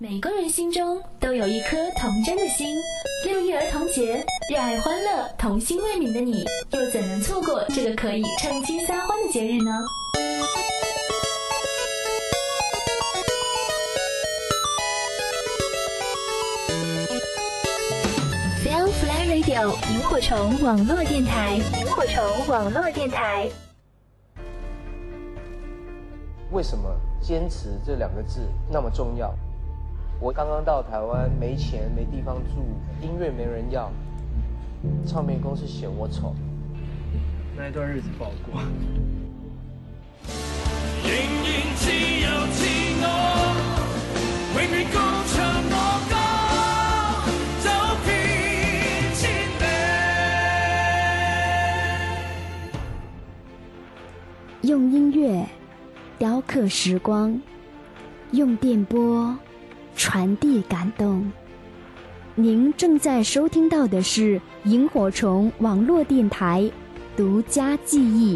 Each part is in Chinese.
每个人心中都有一颗童真的心。6一儿童节，热爱欢乐、童心未泯的你，又怎能错过这个可以趁机撒欢的节日呢？Firefly Radio 萤火虫网络电台，萤火虫网络电台。 为什么坚持这2个字那么重要？我刚刚到台湾，没钱没地方住，音乐没人要，唱片公司嫌我丑，那一段日子不好过。 仍然自由自我，永遠歌唱我歌，走遍千里。 用音乐雕刻时光，用电波传递感动。您正在收听到的是萤火虫网络电台独家记忆。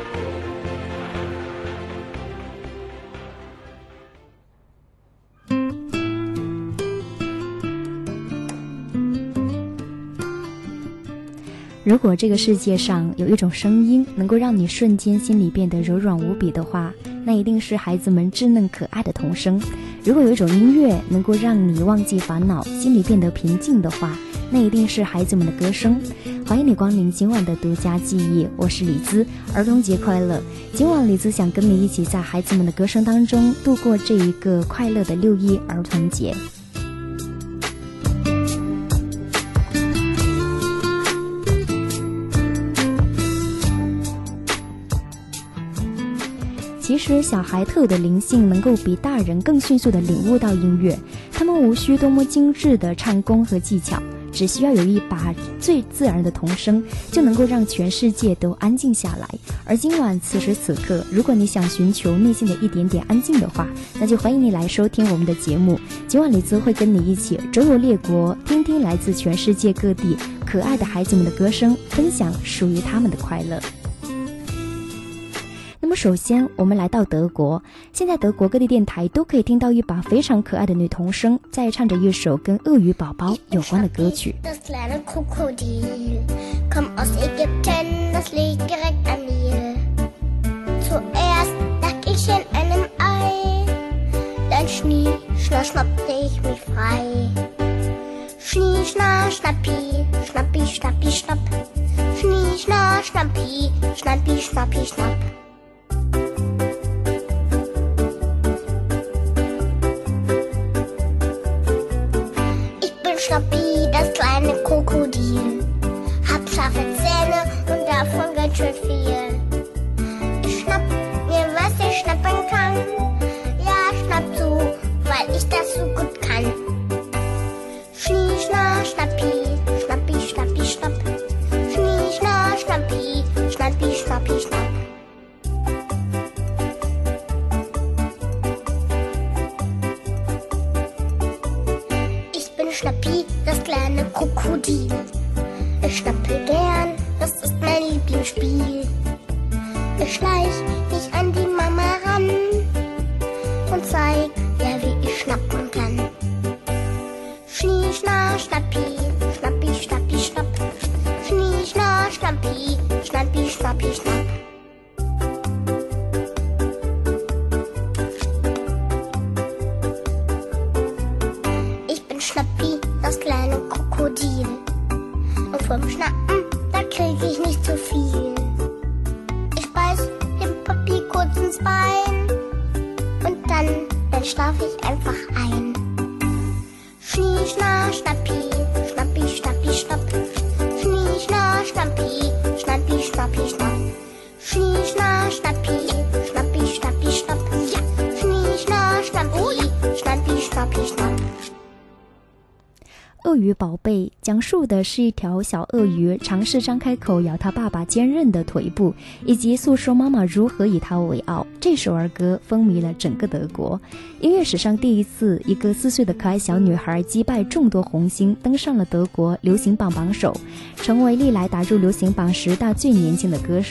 如果这个世界上有一种声音能够让你瞬间心里变得柔软无比的话，那一定是孩子们稚嫩可爱的童声。如果有一种音乐能够让你忘记烦恼，心里变得平静的话，那一定是孩子们的歌声。欢迎你光临今晚的独家记忆，我是李姿，儿童节快乐。今晚李姿想跟你一起在孩子们的歌声当中度过这一个快乐的6一儿童节。其实小孩特有的灵性能够比大人更迅速地领悟到音乐，他们无需多么精致的唱功和技巧，只需要有一把最自然的童声，就能够让全世界都安静下来。而今晚此时此刻，如果你想寻求内心的一点点安静的话，那就欢迎你来收听我们的节目。今晚李姿会跟你一起周游列国，听听来自全世界各地可爱的孩子们的歌声，分享属于他们的快乐。那么首先我们来到德国，现在德国各地电台都可以听到一把非常可爱的女童声在唱着一首跟鳄鱼宝宝有关的歌曲。 Das kleine Krokodil kommt aus Ägypten, das liegt direkt am Nil. Zuerst lag ich in einem Ei, dann schnie, schna, schnappte ich mich frei. Schnie, schna, schnappi, schnappi, schnappi, schnapp. Schnie, schna, schnappi, schnappi, schnappi, schnapp.Schnappi, das kleine Krokodil, hab scharfe Zähne und davon ganz schön viel. Ich schnapp mir, was ich schnappen kann. Ja, schnapp zu, weil ich das so gut kann. Schnie, schna, schnappi, schnappi, schnappi, schnapp. Schnie, schna, schnappi, schnappi, schnappi, schnapp.Schnappi, das kleine Krokodil. Ich schnappe gern, das ist mein Lieblingsspiel. Ich schleich mich an die Mama ran und zeig ihr, wie ich schnappen kann. Schnie, schna, schnappi, schnappi, schnappi, schnapp. Schnie, schna, schnappi, schnappi, schnappi, schnapp.Schnappi, das kleine Krokodil. Und vom Schnappen, da krieg ich nicht zu viel. Ich beiß dem Papi kurz ins Bein und dann schlaf ich einfach ein. Schnie, schna, schnappi, schnappi, schnappi, schnapp. Schnie, schna, schnappi, schnappi, schnappi, schnapp. Schnie, schna, schnappi, schnappi, schnappi, schnapp. Ja, schnie, schna, schnappi, schnappi, schnappi, schnapp. 鳄鱼宝贝讲述的是一条小鳄鱼尝试张开口咬他爸爸坚韧的腿部，以及诉说妈妈如何以他为傲。这首儿歌风靡了整个德国，音乐史上第一次，一个4岁的可爱小女孩击败众多红星，登上了德国流行榜榜首，成为历来打入流行榜10大最年轻的歌手。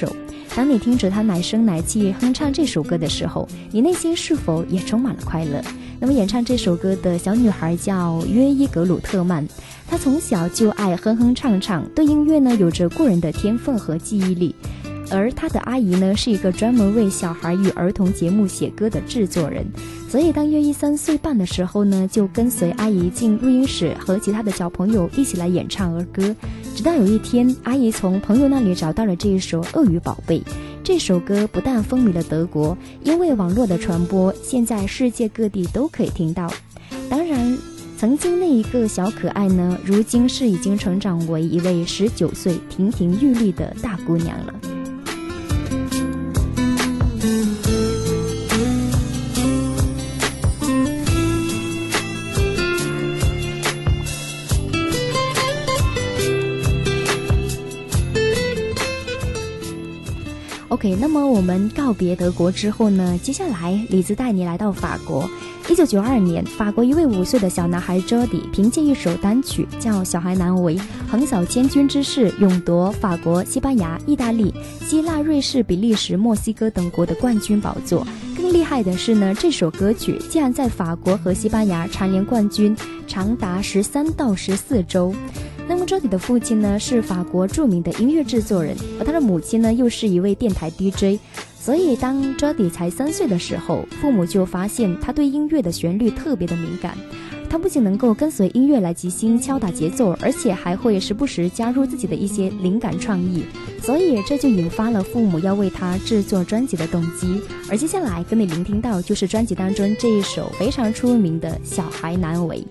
当你听着他奶声奶气哼唱这首歌的时候，你内心是否也充满了快乐？那么演唱这首歌的小女孩叫约伊格鲁特曼，她从小就爱哼哼唱唱，对音乐呢有着过人的天分和记忆力。而他的阿姨呢是一个专门为小孩与儿童节目写歌的制作人，所以当约伊3岁半的时候呢，就跟随阿姨进录音室和其他的小朋友一起来演唱儿歌。直到有一天，阿姨从朋友那里找到了这一首《鳄鱼宝贝》。这首歌不但风靡了德国，因为网络的传播，现在世界各地都可以听到。当然，曾经那一个小可爱呢，如今是已经成长为一位19岁亭亭玉立的大姑娘了。OK， 那么我们告别德国之后呢，接下来李子带你来到法国。1992年，法国一位5岁的小男孩 Jody 凭借一首单曲叫《小孩难为》，横扫千军之势，勇夺法国、西班牙、意大利、希腊、瑞士、比利时、墨西哥等国的冠军宝座。更厉害的是呢，这首歌曲竟然在法国和西班牙蝉联冠军，长达13到14周。那么 Jody 的父亲呢是法国著名的音乐制作人，而他的母亲呢又是一位电台 DJ。所以当 Jody 才3岁的时候，父母就发现他对音乐的旋律特别的敏感。他不仅能够跟随音乐来即兴敲打节奏，而且还会时不时加入自己的一些灵感创意，所以这就引发了父母要为他制作专辑的动机。而接下来跟你聆听到就是专辑当中这一首非常出名的《小孩难为》。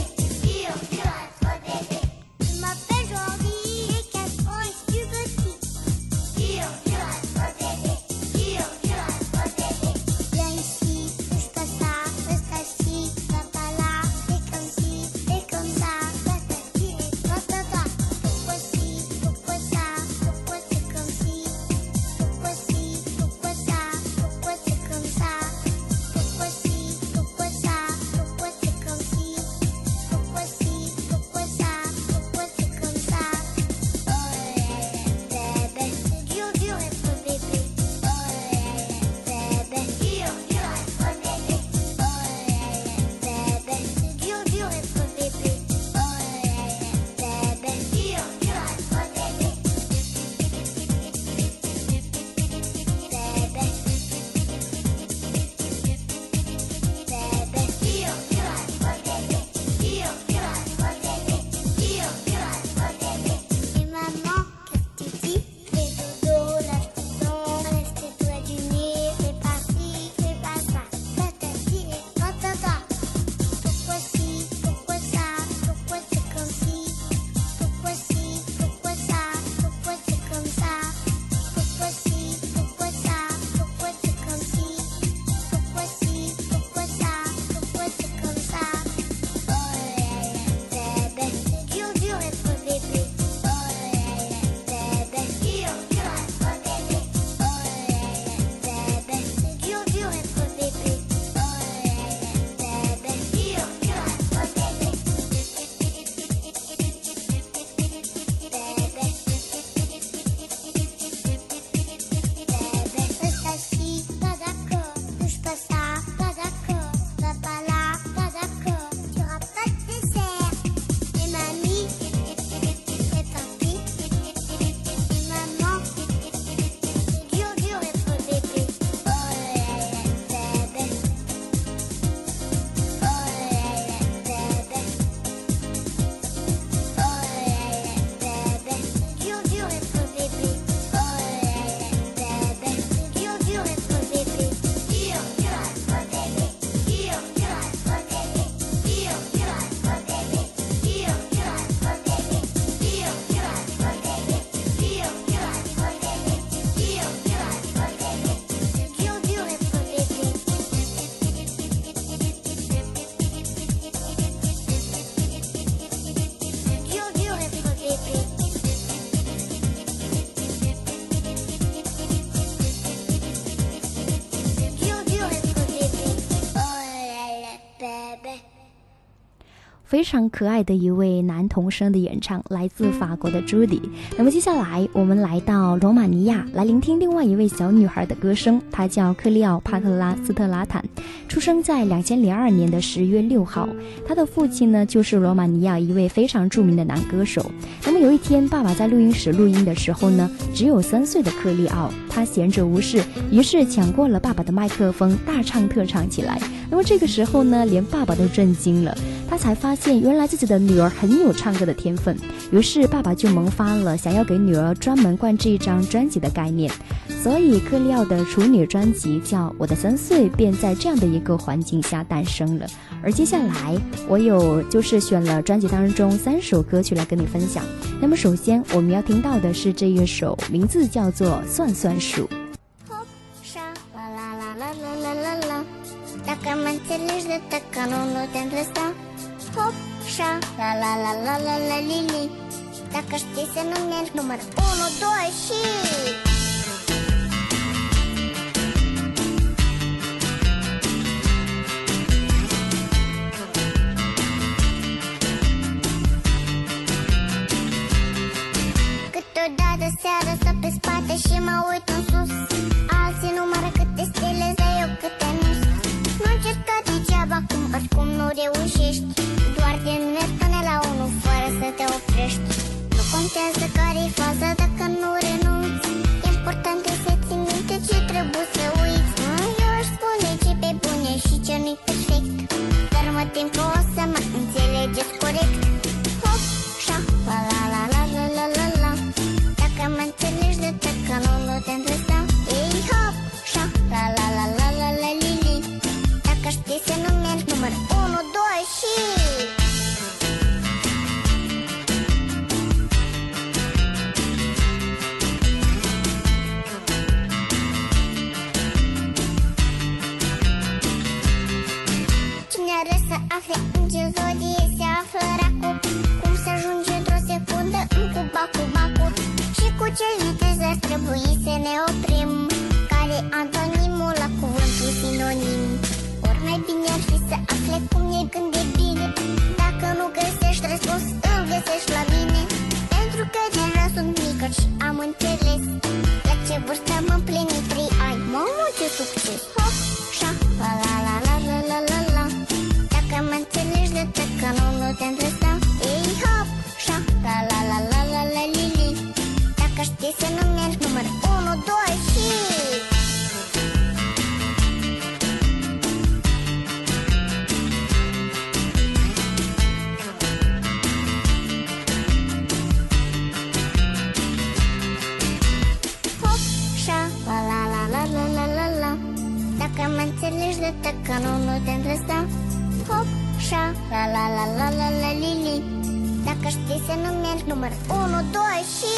Je m'appelle Jordi, j'ai 4 ans et je suis petit. 非常可爱的一位男童声的演唱，来自法国的朱迪。那么接下来我们来到罗马尼亚，来聆听另外一位小女孩的歌声，她叫克利奥帕特拉斯特拉坦，出生在2002年的10月6号。她的父亲呢，就是罗马尼亚一位非常著名的男歌手。那么有一天，爸爸在录音室录音的时候呢，只有3岁的克利奥，他闲着无事，于是抢过了爸爸的麦克风，大唱特唱起来。那么这个时候呢，连爸爸都震惊了，他才发现原来自己的女儿很有唱歌的天分，于是爸爸就萌发了想要给女儿专门灌制一张专辑的概念，所以克利奥的处女专辑叫《我的3岁》便在这样的一个环境下诞生了。而接下来我就是选了专辑当中3首歌曲来跟你分享。那么首先我们要听到的是这一首，名字叫做《算算数》。 Dacă mă înțelegi de tăcă, nu te-am lăsa. Hop, șa, la la la la la la li li. Dacă știi să nu mergi, număr 1, 2 și... Câteodată seara stau pe spate și mă uit în sus. Alții numără câte stele, dar eu câte nu. Nu încerca degeaba, oricum nu reușești. Doar din mergi până la 1 fără să te oprești. Nu contează care-i faza dacă nu renunți. Important e să ții minte ce trebuie să uiți. Eu aș spune ce pe bune și ce nu-i perfect, dar mă tem că o să mă înțelegeți corect. Hop, șa, la la la la la la la la. Dacă mă înțelegi de tăcă, nu te-am lăsa. Ei, hop, șa, la la la la la la li li. Dacă știi să nu mergi, număr 1, 2 și... Cine are să afle în ce zodie se află racul, cum să ajunge într-o secundă în cuba-cuba-cu, și cu ce viteză ar trebui să ne oprim, care antonimul la cuvântul sinonim. Ori mai bine ar fi să afle cum e când e bine. Dacă nu găsești răspuns, îl găsești la mine, pentru că deja sunt mică și am înțeles la ce vârstă am împlinit 3 ani. Mamă, ce succes! Hop, șa, la la la la la la la la. Dacă mă înțelegi de tăcă, nu te-am lăsa. Ei, hop, șa, la la la la la la li li. Dacă știi să nu mergi, număr 1, 2 și... Hop, șa, la la la la la la la la. Dacă mă înțelegi de tăcă, nu te-am lăsa. Hop, șa, la la la la la la li li. Dacă știi să nu mergi, număr 1, 2 și...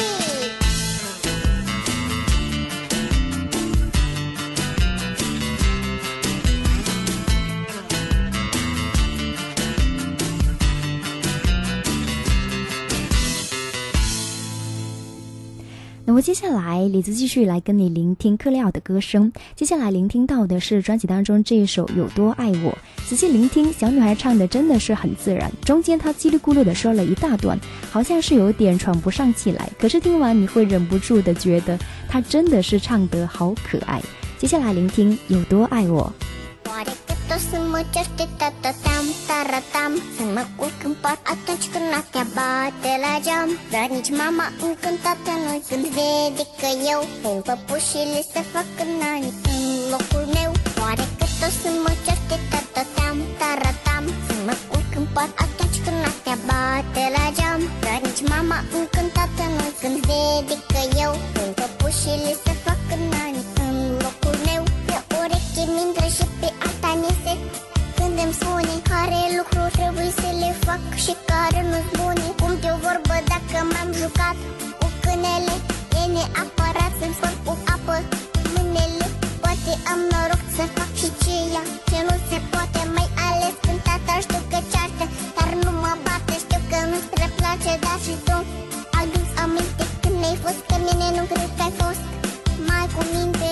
那么接下来李子继续来跟你聆听克利奥的歌声。接下来聆听到的是专辑当中这一首有多爱我。仔细聆听，小女孩唱的真的是很自然，中间她叽里咕噜的说了一大段，好像是有点喘不上气来，可是听完你会忍不住的觉得她真的是唱得好可爱。接下来聆听有多爱我。 O să mă certe tatatam, taratam, să mă culc în pat atunci când noaptea bate la geam. Dar nici mama încântată nu când vede că eu pun păpușile să fac nani în locul meu. Oare cât o să mă certe tatatam, taratam, să mă culc în pat atunci când noaptea bate la geam. Dar nici mama încântată nu când vede că eu pun păpușile să fac nani în locul meu. Pe ureche mi-intră și pe alta nese când îmi spune care lucruri trebuie să le fac și care nu-s bune. Cum de o vorbă dacă m-am jucat cu câinele, e neapărat să-mi spăl cu apă mâinile. Poate am noroc să fac și ceea ce nu se poate, mai ales când tata știu că ceartă, dar nu mă bate. Știu că nu-ți prea place, dar și tu adu-ți aminte când ai fost, că mine nu cred că ai fost. Mai cu minte.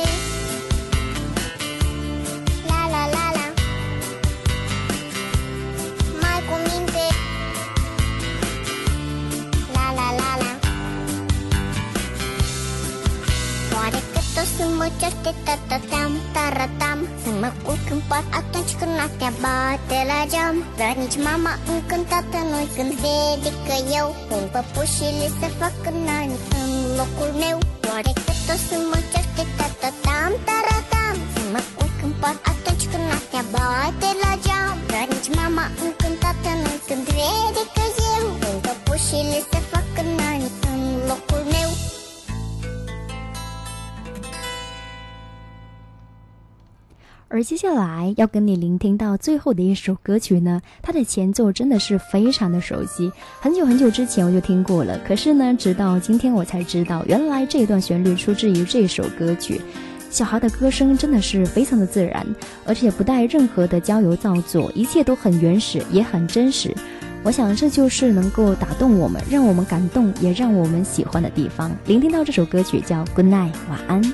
La la la la. Mai cu minte. semua cerita tatatam taratam semua keempat atau cukup tiap batela jam dan mama engkau tata noi kan vedi ke eu un papușile să facă nani în locul meu oare că semua cerita tatatam taratam semua keempat atau cukup tiap batela jam dan mama engkau tata noi kan vedi ke eu un papușile să facă nani în locul meu。 而接下来要跟你聆听到最后的一首歌曲呢，它的前奏真的是非常的熟悉，很久很久之前我就听过了，可是呢直到今天我才知道，原来这段旋律出自于这首歌曲。小孩的歌声真的是非常的自然，而且不带任何的娇柔造作，一切都很原始也很真实。我想这就是能够打动我们，让我们感动也让我们喜欢的地方。聆听到这首歌曲叫 Good Night 晚安。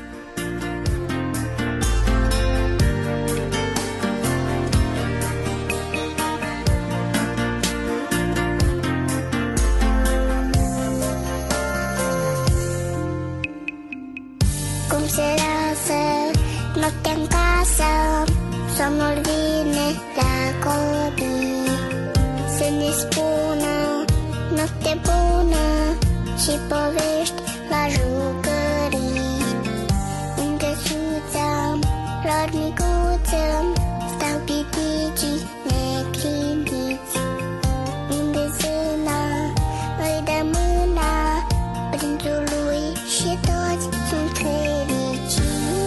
Notte in casa, somnul vine la copii. Se ne spună notte bună și povești la jucării. În căsuța lor micuță stau piticii neclintiți. Unde zâna îi dă mâna prințului și toți sunt fericiți.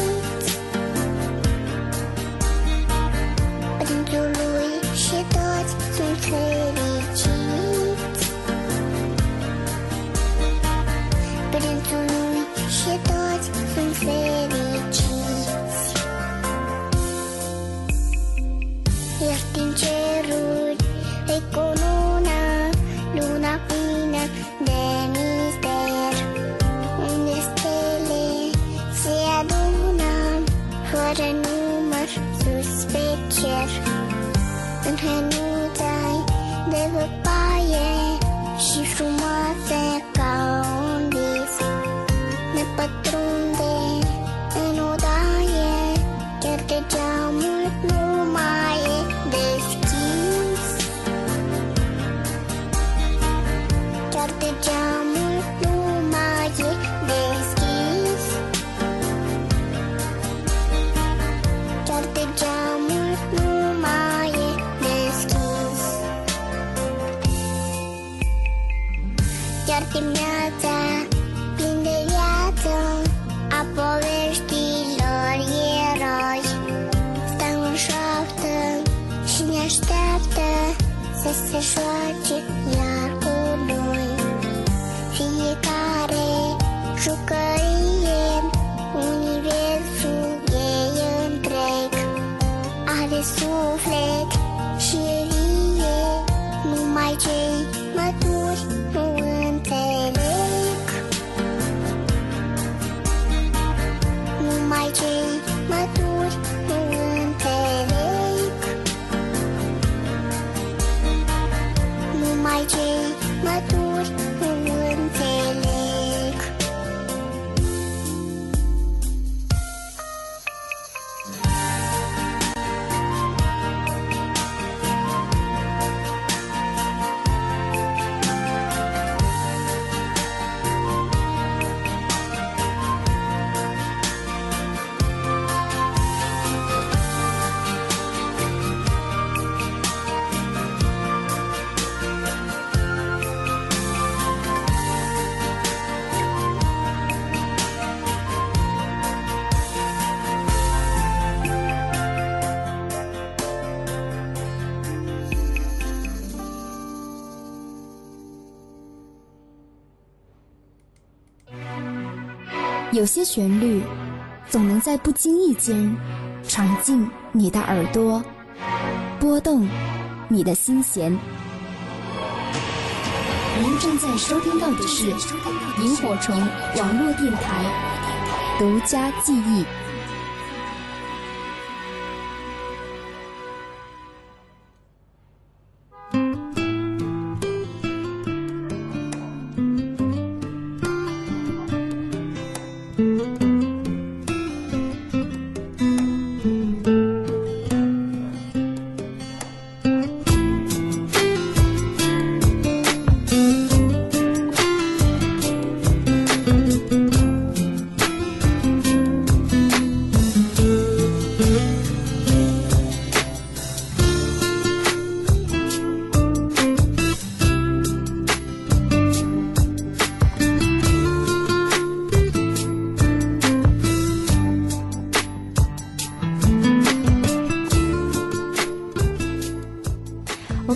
Prințului și toți sunt fericiți. Prințului și toți sunt fericiți. Iar din ceruri îi cununa luna plină de mister, unde stele se adună fără număr sus pe cer. În hănuța-i de văpaie și frumoasă ca un vis, ne pătrunde în odaie, chiar de geamul nu mai e deschis. Chiar de geamul nu mai e deschis. Chiar de geamul nu mai e deschis. Chiar dimineața plin de viață a poveștilor eroi stau în șoaptă și ne așteaptă să se joace iar cu noi. Fiecare jucărie, universul ei întreg, are suflet și vie, numai cei maturi nu înțeleg. Numai cei maturi nu înțeleg. Numai cei maturi nu înțeleg. 有些旋律总能在不经意间闯进你的耳朵，拨动你的心弦。您正在收听到的是萤火虫网络电台独家记忆。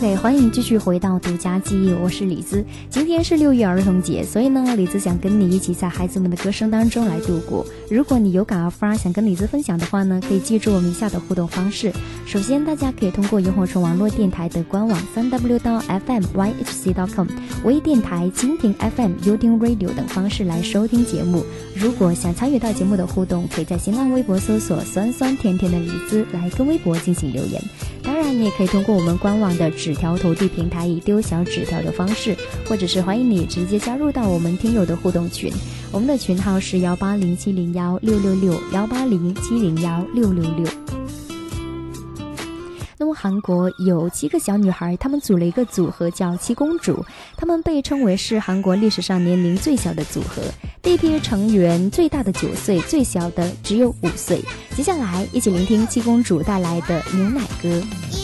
OK， 欢迎继续回到独家记忆，我是李子。今天是6月儿童节，所以呢，李子想跟你一起在孩子们的歌声当中来度过。如果你有感而发，想跟李子分享的话呢，可以记住我们以下的互动方式。首先，大家可以通过萤火虫网络电台的官网3w.fmyhc.com、微电台、蜻蜓 FM、优听 Radio 等方式来收听节目。如果想参与到节目的互动，可以在新浪微博搜索酸酸甜甜的李子来跟微博进行留言。当然，你也可以通过我们官网的纸条投递平台以丢小纸条的方式，或者是欢迎你直接加入到我们听友的互动群。我们的群号是180701666，180701666。那么韩国有7个小女孩，她们组了一个组合叫七公主，她们被称为是韩国历史上年龄最小的组合。第一批成员最大的9岁，最小的只有5岁。接下来一起聆听七公主带来的牛奶歌。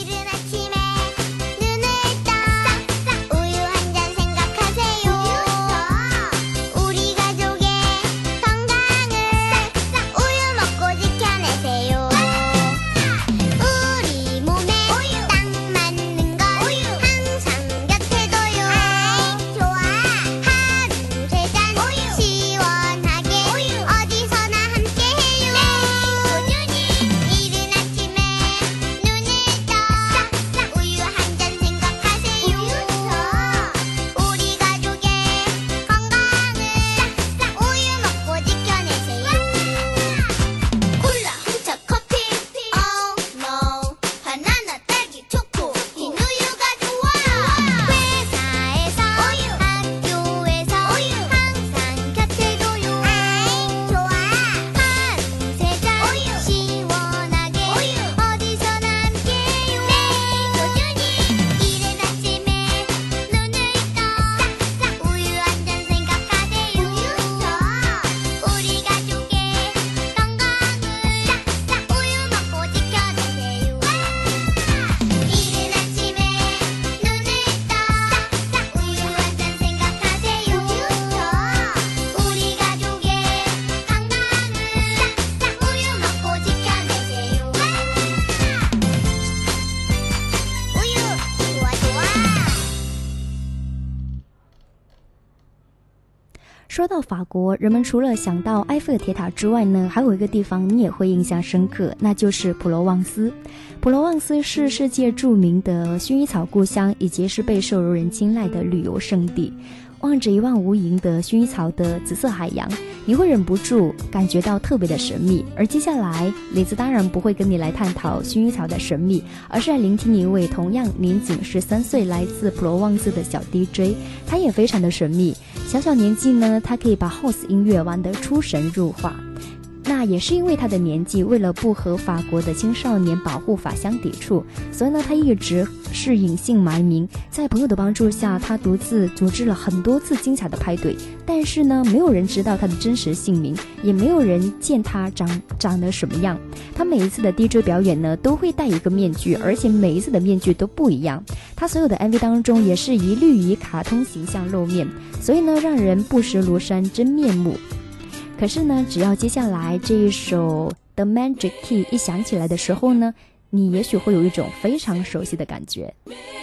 说到法国，人们除了想到埃菲尔铁塔之外呢，还有一个地方你也会印象深刻，那就是普罗旺斯。普罗旺斯是世界著名的薰衣草故乡，以及是备受人青睐的旅游胜地。望着一望无垠的薰衣草的紫色海洋，你会忍不住感觉到特别的神秘。而接下来，李子当然不会跟你来探讨薰衣草的神秘，而是来聆听一位同样年仅13岁来自普罗旺斯的小 DJ， 他也非常的神秘。小年纪呢，他可以把 House 音乐玩得出神入化。那也是因为他的年纪，为了不和法国的青少年保护法相抵触，所以呢，他一直是隐姓埋名。在朋友的帮助下，他独自组织了很多次精彩的派对，但是呢，没有人知道他的真实姓名，也没有人见他长得什么样。他每一次的 DJ 表演呢，都会戴一个面具，而且每一次的面具都不一样。他所有的 MV 当中也是一律以卡通形象露面，所以呢，让人不识庐山真面目。可是呢，只要接下来这一首 The Magic Key 一响起来的时候呢，你也许会有一种非常熟悉的感觉。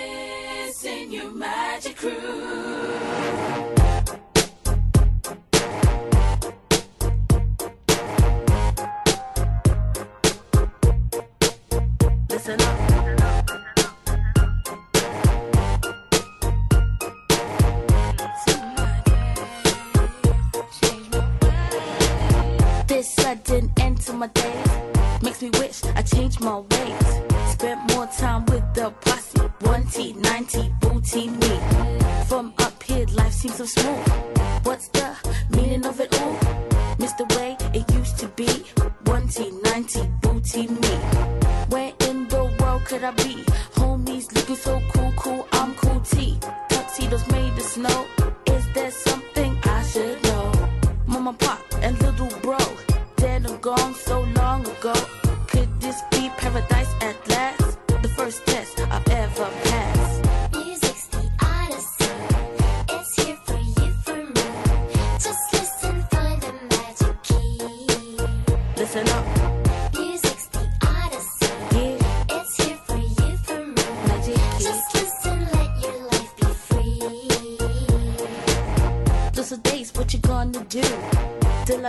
Sudden end to my days makes me wish I changed my ways. Spent more time with the posse, 1T, 90, booty me. From up here, life seems so smooth. What's the meaning of it all? Miss the way it used to be. 1T, 90, booty me. Where in the world could I be? Homies looking so cool, I'm cool T. Tuxedos made of snow. Is there something I should know? Mama, pop, and little bro. Dead and gone so long ago. Could this be paradise at last? The first test I've ever passed. Music's the odyssey. It's here for you, for me. Just listen, find the magic key. Listen up. Music's the odyssey. Yeah. It's here for you,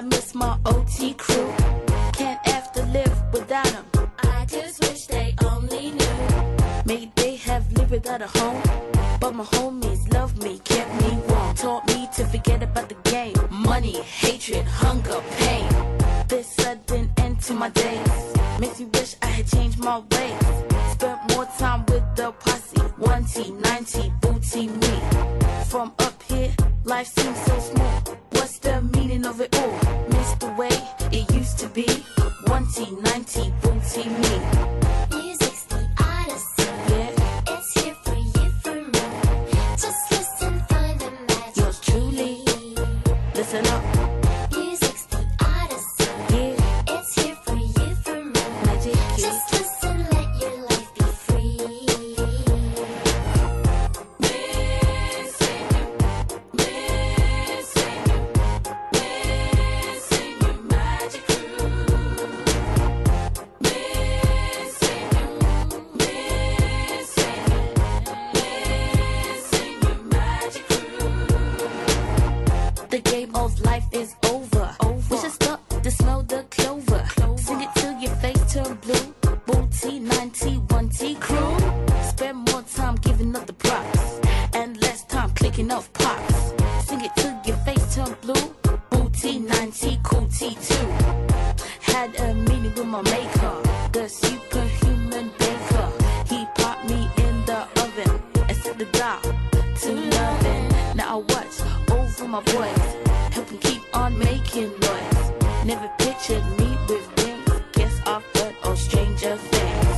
miss my OT crew. Can't have to live without them. I just wish they only knew. Maybe they have lived without a home, but my homies love me, kept me warm, taught me to forget about the game. Money, hatred, hunger, pain. This sudden end to my days makes me wish I had changed my ways. Spent more time with the posse, 1T, 9T, booty me. From up here, life seems so small. What's the meaning of it all? Miss the way it used to be. 1T, 9T, booty me. Music's the odyssey. Yeah, It's here for you, for me. Just listen, find the magic. yours truly. Listen up, Music's the odyssey. yeah, It's here for you, for me. magic key. Just listen, let your life be free. The game of life is over. We should stop to smell the clover. Sing it till your face turn blue. Booty, 9T, 1T crew. Spend more time giving up the props and less time clicking off pops. Sing it till your face turn blue. Booty, 9T, cool T2. Had a meeting with my maker, the superhuman baker. He popped me in the oven and set the dial to loving. Now I watch over my boys, help them keep on making noise. Never pictured me with wings, guess I've heard of stranger things.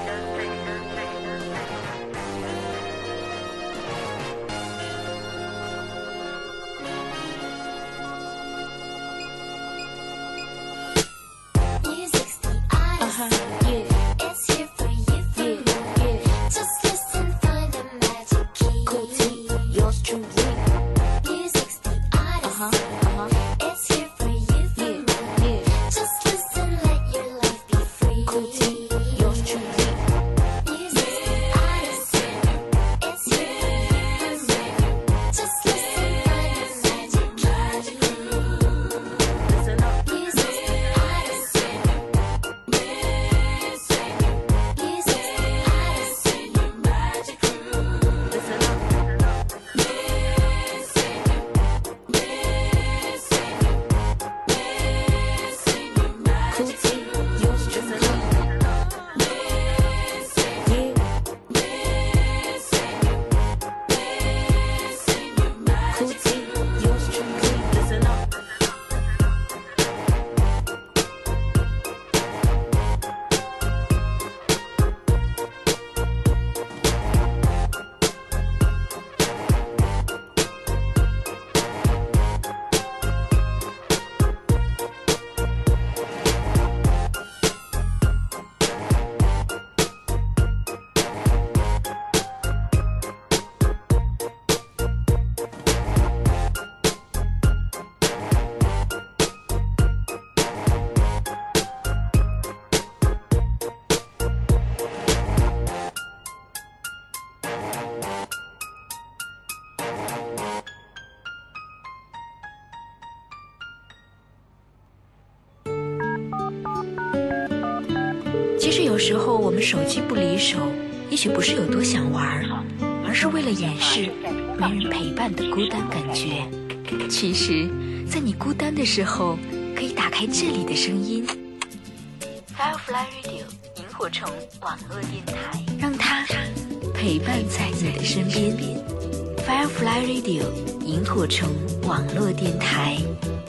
Music's the odyssey. Yeah, It's here for you, for yeah, me. yeah. Just listen, find the magic key. Cool T, yours truly. Music's the odyssey. It's here for you, for Yeah, me. yeah. Just listen, let your life be free. Cool T, yours truly. Music's the odyssey. It's here for you, for me. Just listen, find the magic key. Listen up, Music's the odyssey. Music's the odyssey. listen up. Cool T, yours truly. Yeah, cool T, yours truly. Listen up. 其实有时候我们手机不离手，也许不是有多想玩，而是为了掩饰没人陪伴的孤单感觉。其实，在你孤单的时候，可以打开这里的声音 ，Firefly Radio 萤火虫网络电台，让它陪伴在你的身边。Firefly Radio 萤火虫网络电台。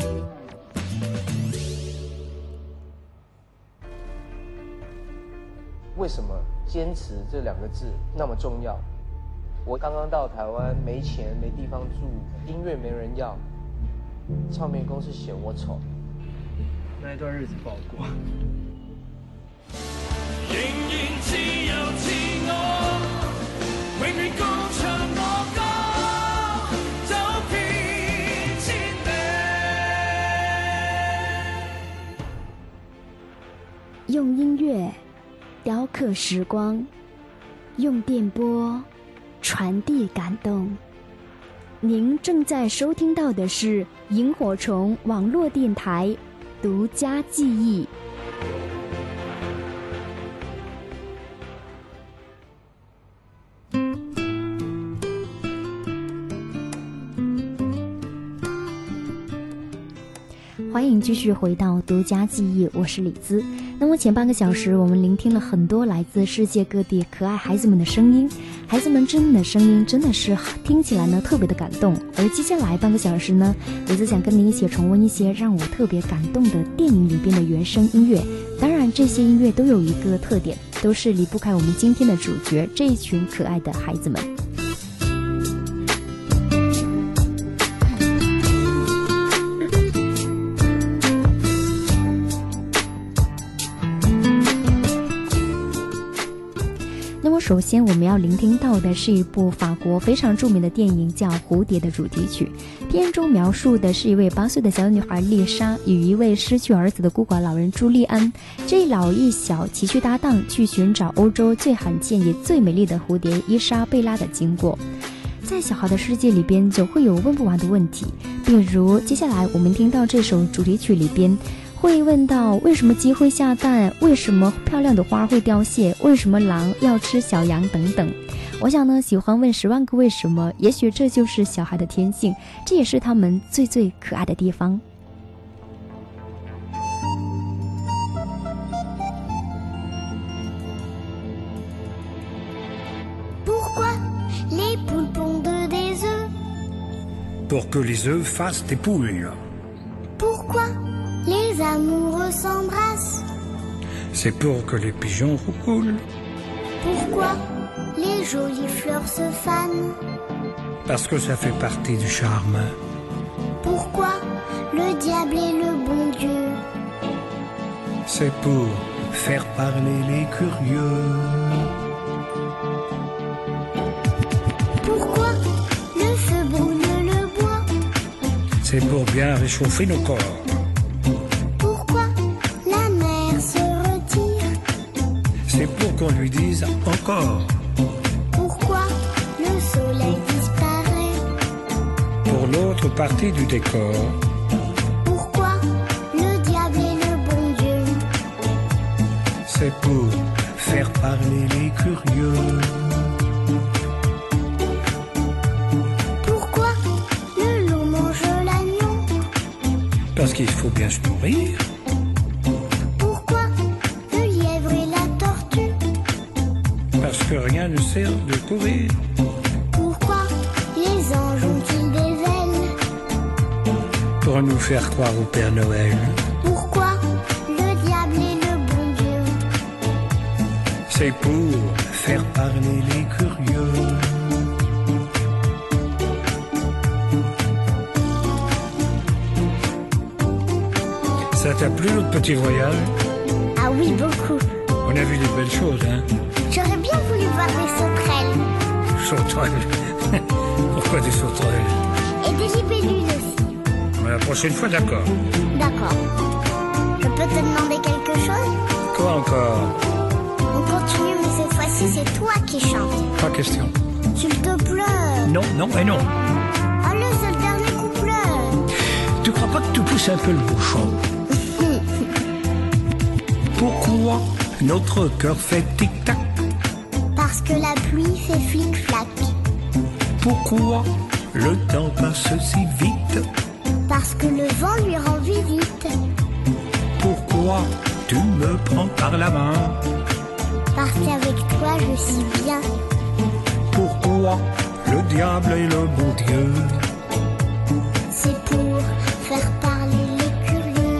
为什么坚持这两个字那么重要？我刚刚到台湾，没钱没地方住，音乐没人要，唱片公司嫌我丑，那一段日子不好过。 仍然自由自我，永遠歌唱我歌，走遍千里。 用音乐雕刻时光，用电波传递感动。您正在收听到的是萤火虫网络电台独家记忆。欢迎继续回到独家记忆，我是李姿。那么前半个小时我们聆听了很多来自世界各地可爱孩子们的声音，孩子们真的声音真的是听起来呢特别的感动。而接下来半个小时呢，李姿想跟您一起重温一些让我特别感动的电影里边的原声音乐。当然这些音乐都有一个特点，都是离不开我们今天的主角这一群可爱的孩子们。首先我们要聆听到的是一部法国非常著名的电影，叫《蝴蝶》的主题曲。片中描述的是一位8岁的小女孩丽莎与一位失去儿子的孤寡老人朱利安这一老一小崎岖搭档去寻找欧洲最罕见也最美丽的蝴蝶伊莎贝拉的经过。在小孩的世界里边总会有问不完的问题，比如接下来我们听到这首主题曲里边会问到为什么鸡会下蛋，为什么漂亮的花会凋谢，为什么狼要吃小羊等等。我想呢，喜欢问10万个为什么，也许这就是小孩的天性，这也是他们最最可爱的地方。 Pourquoi les poules pondent des œufs? Pour que les œufs fassent des poules. Pourquoi les amoureux s'embrassent? C'est pour que les pigeons roulent. Pourquoi les jolies fleurs se fanent? Parce que ça fait partie du charme. Pourquoi le diable est le bon Dieu? C'est pour faire parler les curieux. Pourquoi le feu brûle le bois? C'est pour bien réchauffer nos corps. C'est pour qu'on lui dise encore. Pourquoi le soleil disparaît? Pour l'autre partie du décor. Pourquoi le diable est le bon Dieu? C'est pour faire parler les curieux. Pourquoi le loup mange l'agneau? Parce qu'il faut bien se nourrir. Parce que rien ne sert de courir. Pourquoi les anges ont-ils des ailes? Pour nous faire croire au Père Noël. Pourquoi le diable est le bon Dieu? C'est pour faire parler les curieux. Ça t'a plu notre petit voyage? Ah oui, beaucoup. On a vu des belles choses, hein? J'aurais bien voulu voir des sauterelles. Sauterelles? Pourquoi des sauterelles? Et des libellules aussi. La prochaine fois, d'accord. D'accord. Je peux te demander quelque chose? Quoi encore? On continue, mais cette fois-ci, c'est toi qui chantes. Pas question. S'il te plaît. Non, non et non. Allez, c'est le dernier couplet. Tu crois pas que tu pousses un peu le bouchon? Pourquoi notre cœur fait tic-tac? Parce que la pluie fait flic-flac. Pourquoi le temps passe si vite? Parce que le vent lui rend visite. Pourquoi tu me prends par la main? Parce qu'avec toi je suis bien. Pourquoi le diable est le bon Dieu? C'est pour faire parler les curieux.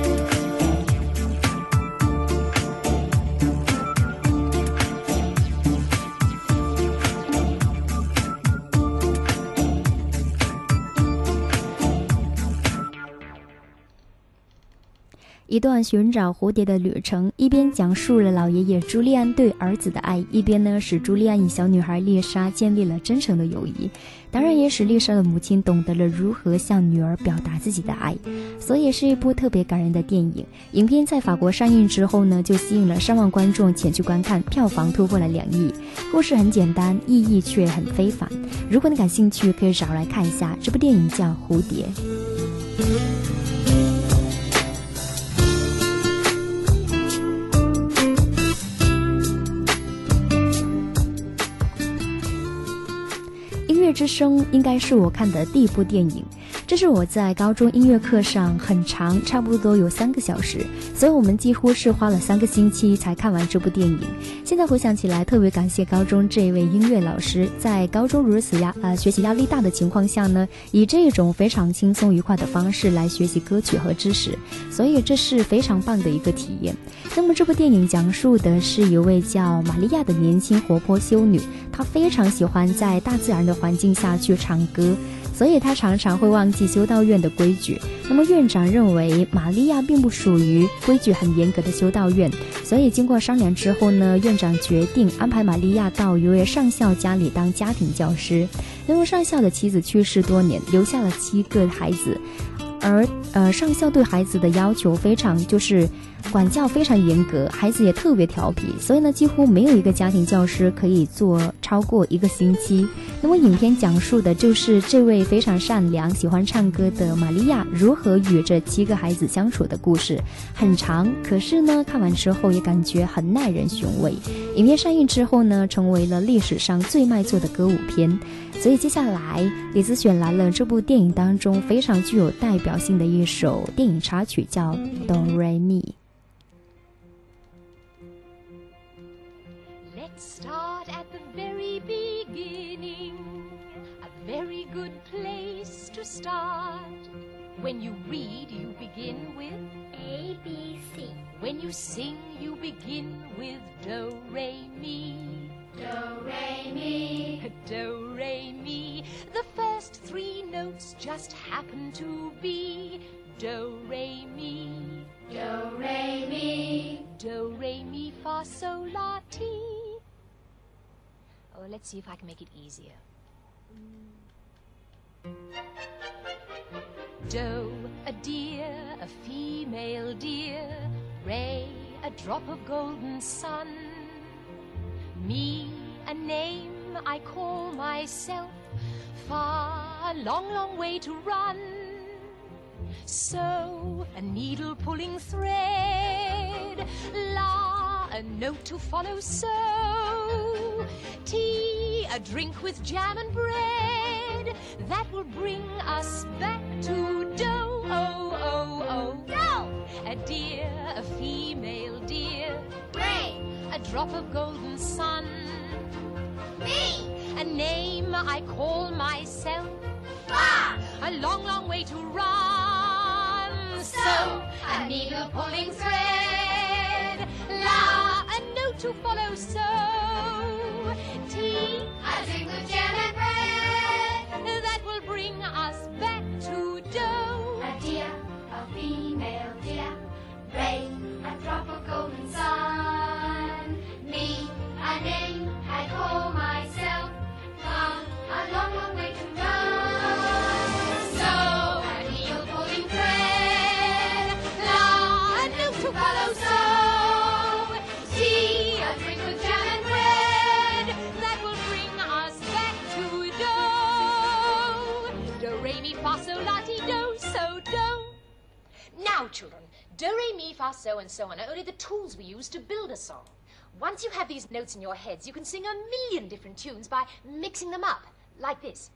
一段寻找蝴蝶的旅程，一边讲述了老爷爷朱利安对儿子的爱，一边呢使朱利安与小女孩丽莎建立了真诚的友谊，当然也使丽莎的母亲懂得了如何向女儿表达自己的爱，所以是一部特别感人的电影。影片在法国上映之后呢，就吸引了3万观众前去观看，票房突破了2亿。故事很简单，意义却很非凡。如果你感兴趣，可以找来看一下，这部电影叫《蝴蝶》。 音乐之声应该是我看的第一部电影，这是我在高中音乐课上很长，差不多有3个小时，所以我们几乎是花了3个星期才看完这部电影。现在回想起来，特别感谢高中这一位音乐老师，在高中如此学习压力大的情况下呢，以这种非常轻松愉快的方式来学习歌曲和知识，所以这是非常棒的一个体验。那么这部电影讲述的是一位叫玛利亚的年轻活泼修女，她非常喜欢在大自然的环境下去唱歌，所以他常常会忘记修道院的规矩。那么院长认为玛利亚并不属于规矩很严格的修道院，所以经过商量之后呢，院长决定安排玛利亚到一位上校家里当家庭教师。因为上校的妻子去世多年，留下了7个孩子，而上校对孩子的要求非常就是管教非常严格，孩子也特别调皮，所以呢几乎没有一个家庭教师可以做超过1个星期。那么影片讲述的就是这位非常善良喜欢唱歌的玛利亚如何与这7个孩子相处的故事，很长，可是呢看完之后也感觉很耐人寻味。影片上映之后呢，成为了历史上最卖座的歌舞片。所以接下来李子选来了这部电影当中非常具有代表性的一首电影插曲，叫 Do Re Mi。Let's start at the very beginning, a very good place to start. When you read, you begin with A, B, C. When you sing, you begin with Do, Re, Mi. Do, Re, Mi. Do, Re, Mi. The first 3 notes just happen to be Do, Re, Mi. Do, Re, Mi. Do, Re, Mi, Fa, Sol, La, Ti. Oh, let's see if I can make it easier. Do, a deer, a female deer. Re, a drop of golden sun. Mi, a name I call myself. Fa, a long, long way to run. So, a needle pulling thread. La, a note to follow. So, tea, a drink with jam and bread. That will bring us back to Do, oh, oh, oh. Do. A deer, a female deer. Re. A drop of golden sun. Mi. A name I call myself. Fa. A long, long way to run. So, a needle pulling thread. La, a note to follow. So, tea, A drink with jam and bread. that will bring us back to Do. A deer, a female deer. Re, a drop of golden sun. Me, a name I call myself. Fa, a long, long way to run. So, a needle pulling thread. La, a note to follow. So, Tea, a drink with jam and bread. that will bring us back to Do. Do, Re, Mi, Fa, Sol, La, Ti, Do, So, Do. Now, children, Do, Re, Mi, Fa, So, and so on are only the tools we use to build a song. Once you have these notes in your heads, you can sing 1,000,000 different tunes by mixing them up, like this.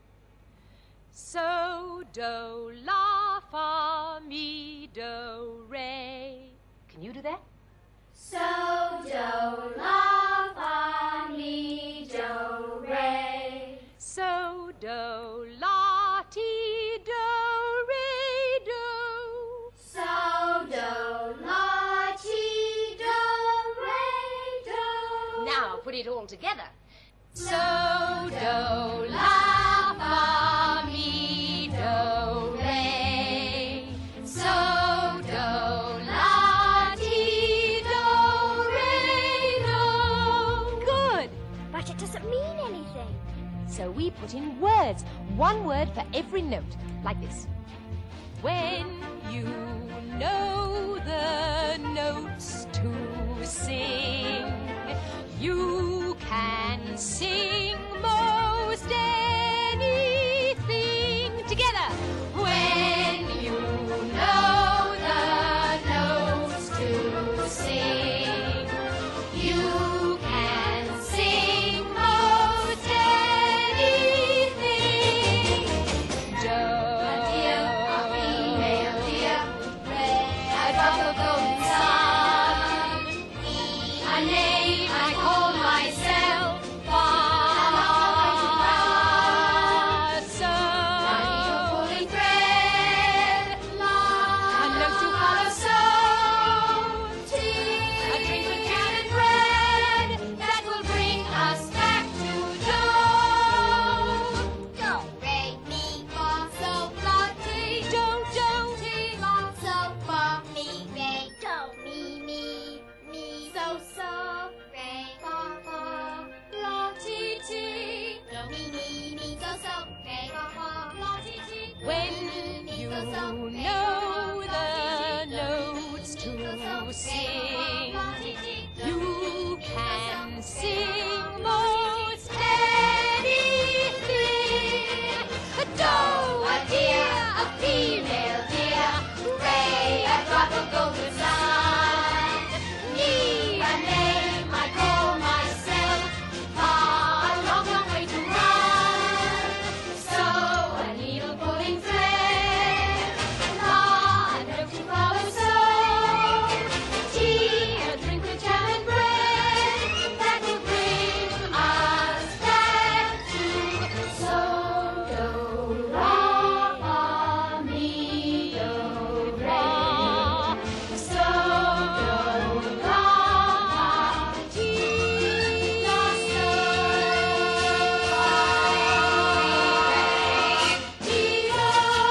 So, Do, La, Fa, Mi, Do, Re. Can you do that? So, do, la, fa, mi, do, re. So, Do, La, Ti, Do, Re, Do. So, do, la, ti, do, re, do. Now put it all together. So, do, la, fa, mi, do, re. So, do, la, ti, do, re, do. Good. But it doesn't mean anything. So we put in words, 1 word for every note, like this. When you know the notes to sing, you can sing most anything together. When drop of golden sun. A name I call myself, Father. A needle pulling thread, a note to follow, so a drink with jam and bread that will bring us back to Joe. Do, re, mi, fa, sol, la, ti. Do, do, Ti, la, sol, fa, mi, re, do, mi, mi, so, so, re, fa, fa, la, ti, ti. Do, mi, so, so, re, fa, fa, la, ti, ti. when you know the notes to sing, you can sing most anything. A doe, a deer, a female deer, ray, a drop of golden sun. Me, a name I call myself, a long, long way to run. So a needle pulling thread, a note to follow, so tea, a drink with jam and bread that will bring us back to so do ra fa mi do re, so do ra ti la so re ti do.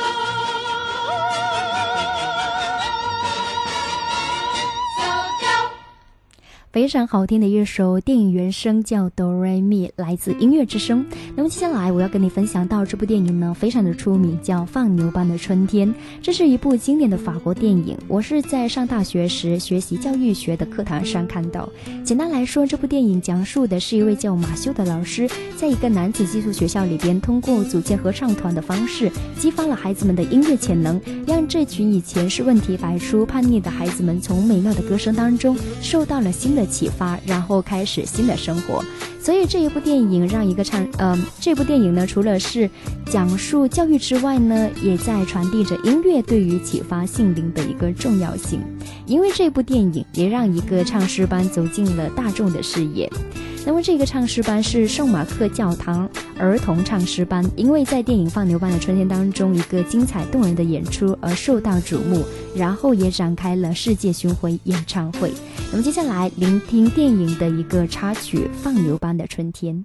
非常好听的一首电影原声叫 Do Re Mi， 来自音乐之声。那么接下来我要跟你分享到这部电影呢，非常的出名，叫《放牛班的春天》。这是一部经典的法国电影，我是在上大学时学习教育学的课堂上看到。简单来说，这部电影讲述的是一位叫马修的老师，在一个男子寄宿学校里边，通过组建合唱团的方式，激发了孩子们的音乐潜能，让这群以前是问题百出、叛逆的孩子们，从美妙的歌声当中受到了新的启发，然后开始新的生活。所以这部电影呢，除了是讲述教育之外呢，也在传递着音乐对于启发心灵的一个重要性。因为这部电影也让一个唱诗班走进了大众的视野。那么这个唱诗班是圣马克教堂儿童唱诗班，因为在电影《放牛班的春天》当中一个精彩动人的演出而受到瞩目，然后也展开了世界巡回演唱会。那么接下来聆听电影的一个插曲《放牛班的春天》。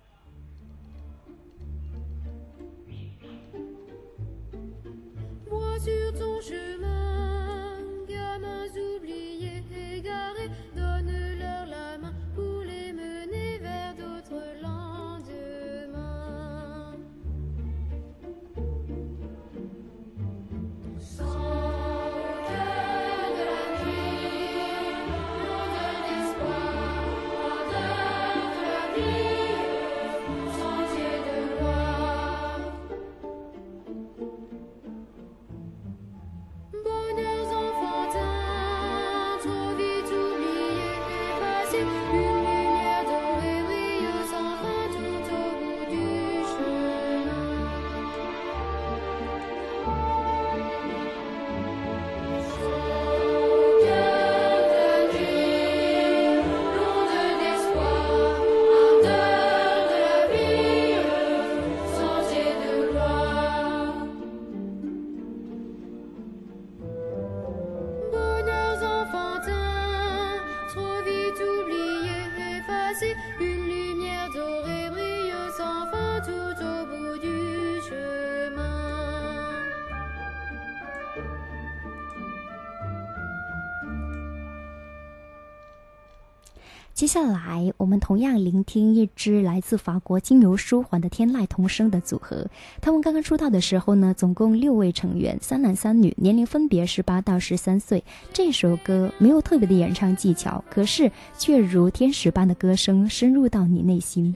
接下来我们同样聆听一支来自法国经由舒缓的天籁童声的组合。他们刚刚出道的时候呢，总共6位成员，3男3女，年龄分别18到13岁。这首歌没有特别的演唱技巧，可是却如天使般的歌声深入到你内心。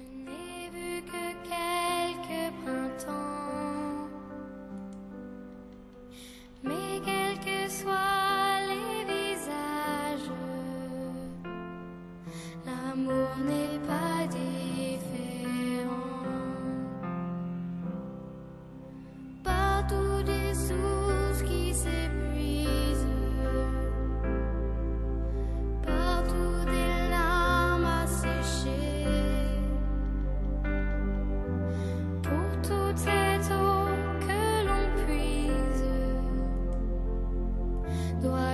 Partout des sources qui s'épuisent.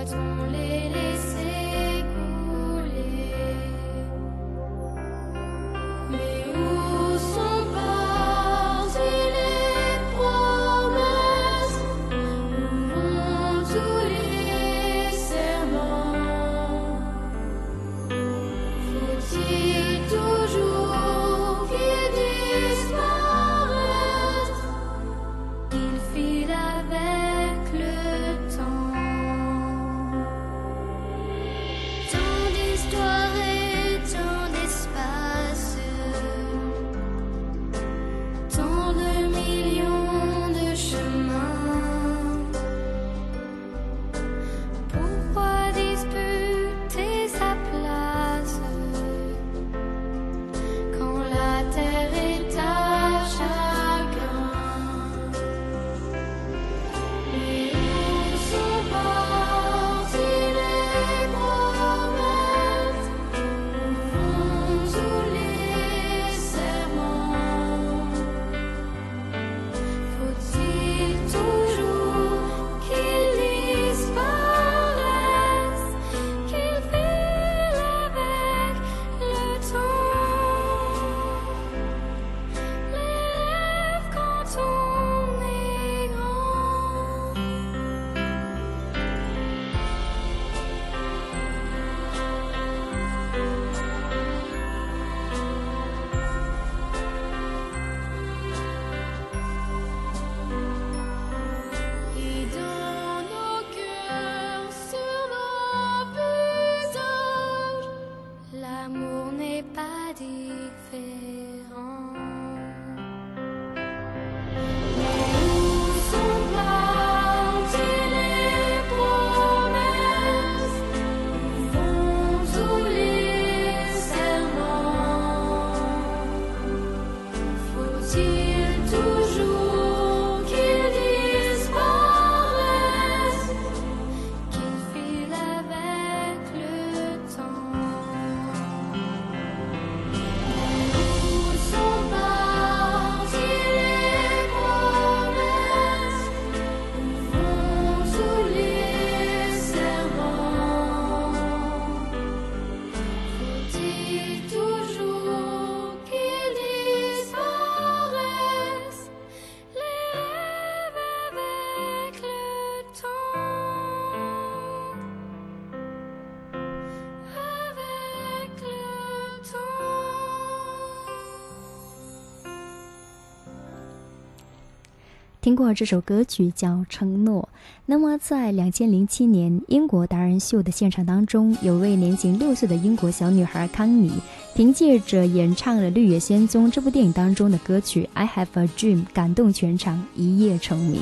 听过这首歌曲叫《承诺》。那么在2007年英国达人秀的现场当中，有位年仅6岁的英国小女孩康妮，凭借着演唱了《绿野仙踪》这部电影当中的歌曲《I Have a Dream》，感动全场，一夜成名。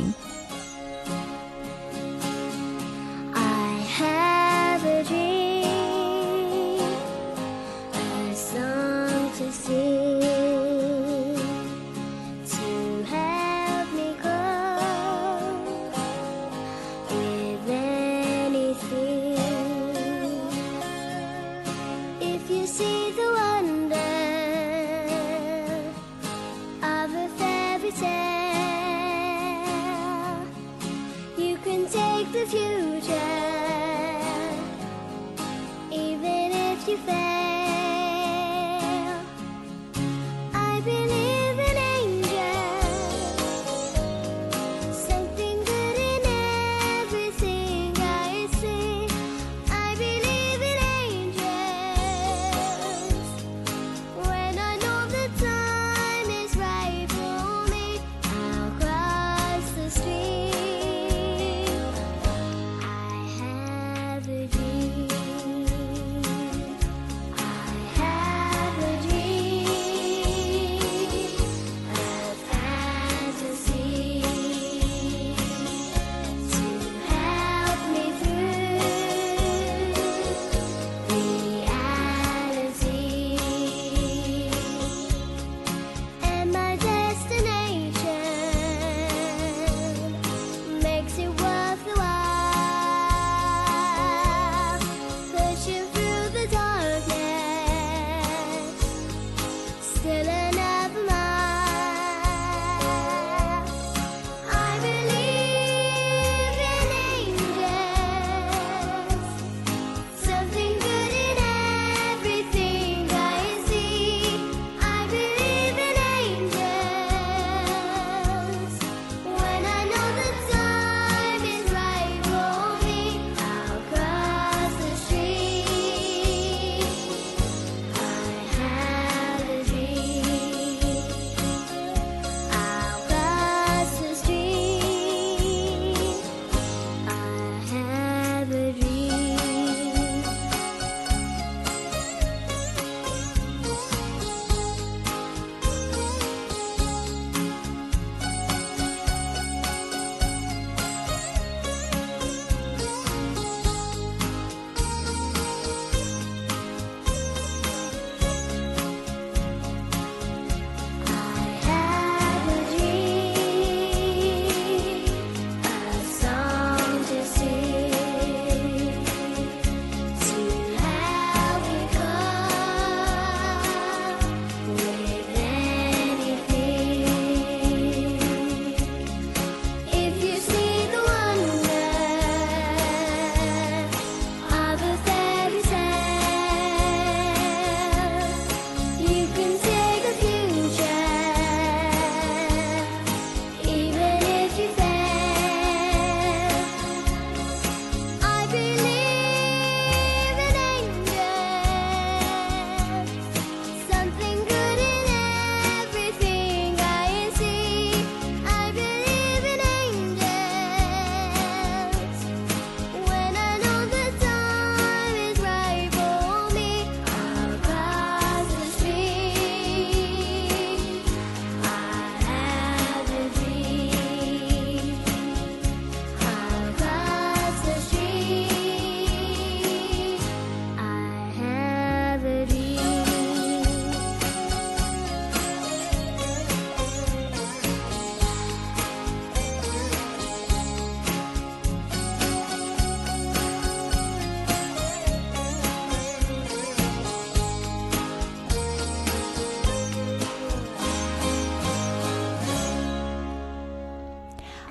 Tale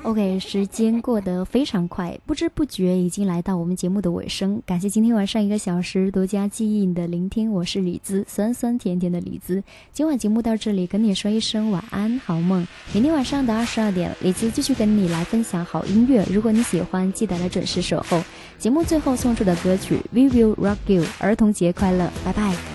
OK， 时间过得非常快，不知不觉已经来到我们节目的尾声。感谢今天晚上1个小时独家记忆的聆听，我是李子，酸酸甜甜的李子。今晚节目到这里，跟你说一声晚安，好梦。明天晚上的22点，李子继续跟你来分享好音乐。如果你喜欢，记得来准时守候。节目最后送出的歌曲《We Will Rock You》，儿童节快乐，拜拜。